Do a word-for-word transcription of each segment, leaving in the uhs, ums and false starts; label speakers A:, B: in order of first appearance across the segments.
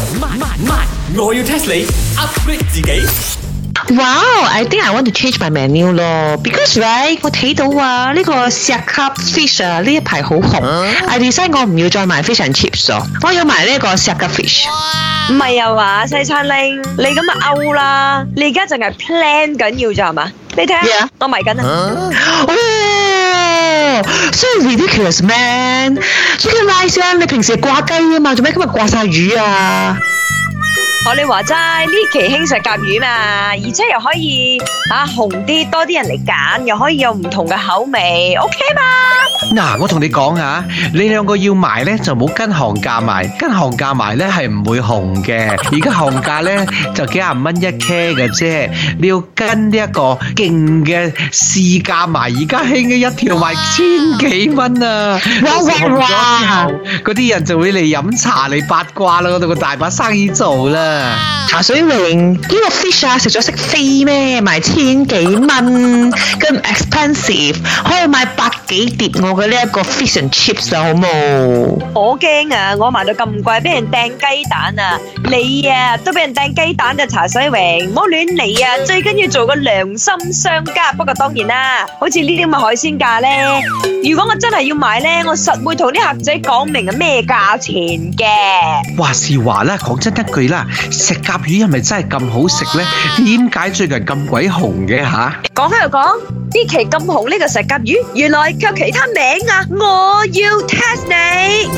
A: 慢慢慢，我要 test 你 upgrade 自己。
B: Wow, I think I want to change my menu 咯 ，because right 我睇到啊呢、這個石cap fish 啊呢一排好紅、啊、，I decide 我唔要再買 fish and chips 咯，我要買呢個石cap fish。
C: 唔係啊嘛，西餐拎你咁啊 out 啦，你而家淨係 plan 緊要咋係嘛？你睇下，yeah. 我迷緊啊！
B: 哦 ，so ridiculous man！ Chicken rice 啊，你平時係掛雞啊嘛，做咩今日掛晒魚啊？
C: 我你話齋呢期興石甲魚嘛，而且又可以啊紅啲，多啲人嚟揀，又可以有唔同嘅口味 ，OK 嘛？
D: 嗱，我同你講啊，你兩個要賣咧就冇跟行價賣，跟行價賣咧係唔會紅嘅。而家行價咧就幾廿蚊一 K 嘅啫，你要跟呢一個勁嘅市價賣，而家興嘅一條賣千幾蚊啊！哇哇哇！嗰啲人就會嚟飲茶嚟八卦啦，嗰度個大把生意做啦。
B: 茶水榮呢個 fish 啊，食咗識飛咩？賣千幾蚊，咁 expensive， 可以買百幾碟我嘅呢一個 fish and chips 啊，好冇？
C: 我驚啊！我賣到咁貴，俾人掟雞蛋啊！你啊都俾人掟雞蛋嘅茶水榮，唔好亂嚟啊！最緊要做個良心商家。不過當然啦，好似呢啲咁嘅海鮮價咧，如果我真係要買咧，我實會同啲客仔講明係咩價錢嘅。
D: 話是話啦，講真一句啦。石甲魚係咪真係咁好食呢？點解最近咁鬼紅嘅吓？
C: 講開又講，呢期咁紅呢個石甲魚，原來佢有其他名啊！我要 test 你。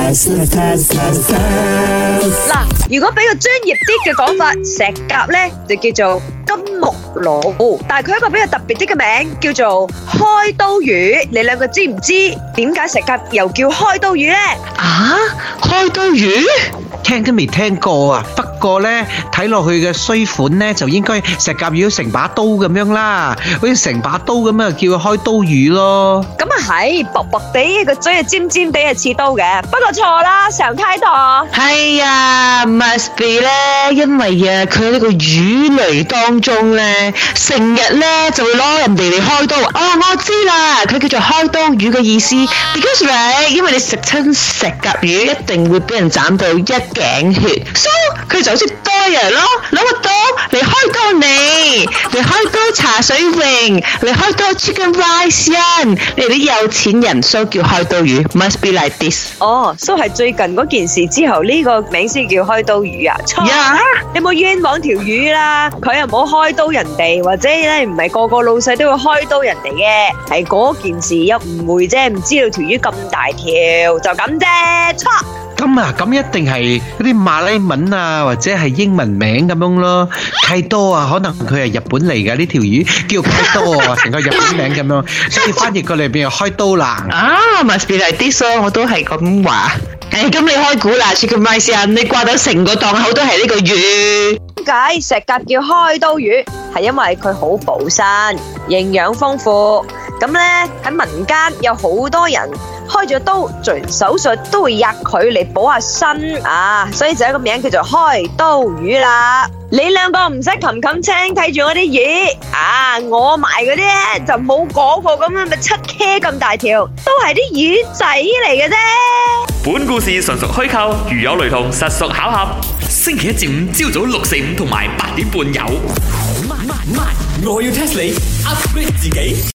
C: 嗱，如果俾個專業啲嘅講法，石甲呢就叫做金目鱸，但係佢一個比較特別啲嘅名叫做開刀魚。你兩個知唔知點解石甲又叫開刀魚呢？
B: 啊，開刀魚？
D: 聽都未聽過啊！不過咧睇落去嘅衰款咧，就應該石甲魚成把刀咁樣啦，好似成把刀咁樣叫佢開刀魚咯。
C: 咁啊係，薄薄地個嘴啊尖尖地係似刀嘅，不過錯啦，上太多。
B: 係啊 ，must be 咧，因為啊佢喺呢個魚類當中咧，成日咧就會攞人哋嚟開刀。哦，我知啦，佢叫做開刀魚嘅意思 ，because right， 因為你食親石甲魚一定會俾人斬到一頸血 ，so 佢就好似刀人咯，攞個刀嚟開刀你，嚟開刀茶水榮，嚟開刀 chicken rice 人，你哋啲有錢人 so 叫開刀魚 ，must be like this。
C: 哦 ，so 係最近嗰件事之後呢、這個名先叫開刀魚啊？錯，
B: yeah.
C: 你冇冤枉條魚啦，佢又冇開刀人哋，或者咧唔係個個老細都會開刀人哋嘅，係嗰件事有誤會啫，唔知道條魚咁大條就咁啫，錯。
D: 咁啊，咁一定係嗰啲馬來文啊，或者係英文名咁樣咯。契多啊，可能佢係日本嚟噶，呢條魚叫契多啊，成個日本名咁樣，所以翻譯過嚟變係開刀啦。
B: 啊 ，must be like this 咯，我都係咁話。誒，咁你開估啦 ，Chicken Rice 啊，你掛到成個檔口都係呢個魚。
C: 點解石甲叫開刀魚？係因為佢好補身，營養豐富。咁咧喺民間有好多人開咗刀做完手術都會吔佢嚟補下身啊，所以就有個名叫做開刀魚啦。你兩個唔使擒擒青睇住我啲魚啊，我賣嗰啲咧就冇嗰個咁樣咪七 K 咁大條，都係啲魚仔嚟嘅啫。
A: 本故事純屬虛構，如有雷同，實屬巧合。星期一至五朝早六四五同埋八點半有。慢慢慢，我要 test 你 upgrade 自己。